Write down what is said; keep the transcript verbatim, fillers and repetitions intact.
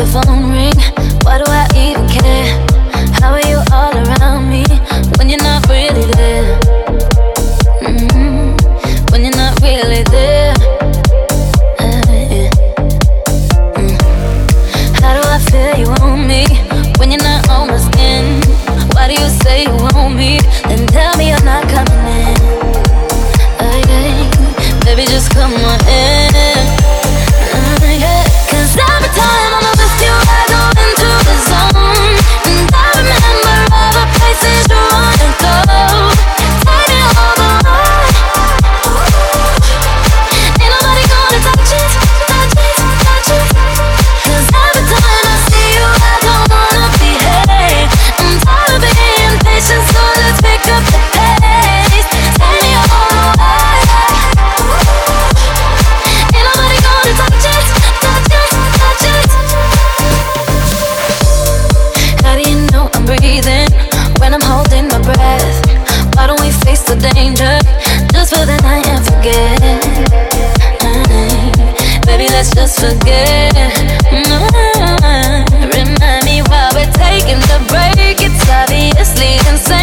the phone ring. Why do I even care? How are you all around me when you're not really there? Mm-hmm. When you're not really there. Uh, yeah. mm. How do I feel you on me when you're not on my skin? Why do you say you want me, then tell me you're not coming in? Uh, yeah. Baby, just come on in. Uh, yeah. Cause every time I'm with you, I go into the zone, and I remember all the places you wanna go. Take me all the way. Ain't nobody gonna touch it, touch it, touch it. Cause every time I see you, I don't wanna behave. I'm tired of being patient, so let's pick up the pace. Take me all the way. Ain't nobody gonna touch it, touch it, touch it. How do you know I'm breathing when I'm holding my breath? Why don't we face the danger just for the night and forget? Mm, Baby, let's just forget. Mm, Remind me while we're taking the break. It's obviously insane.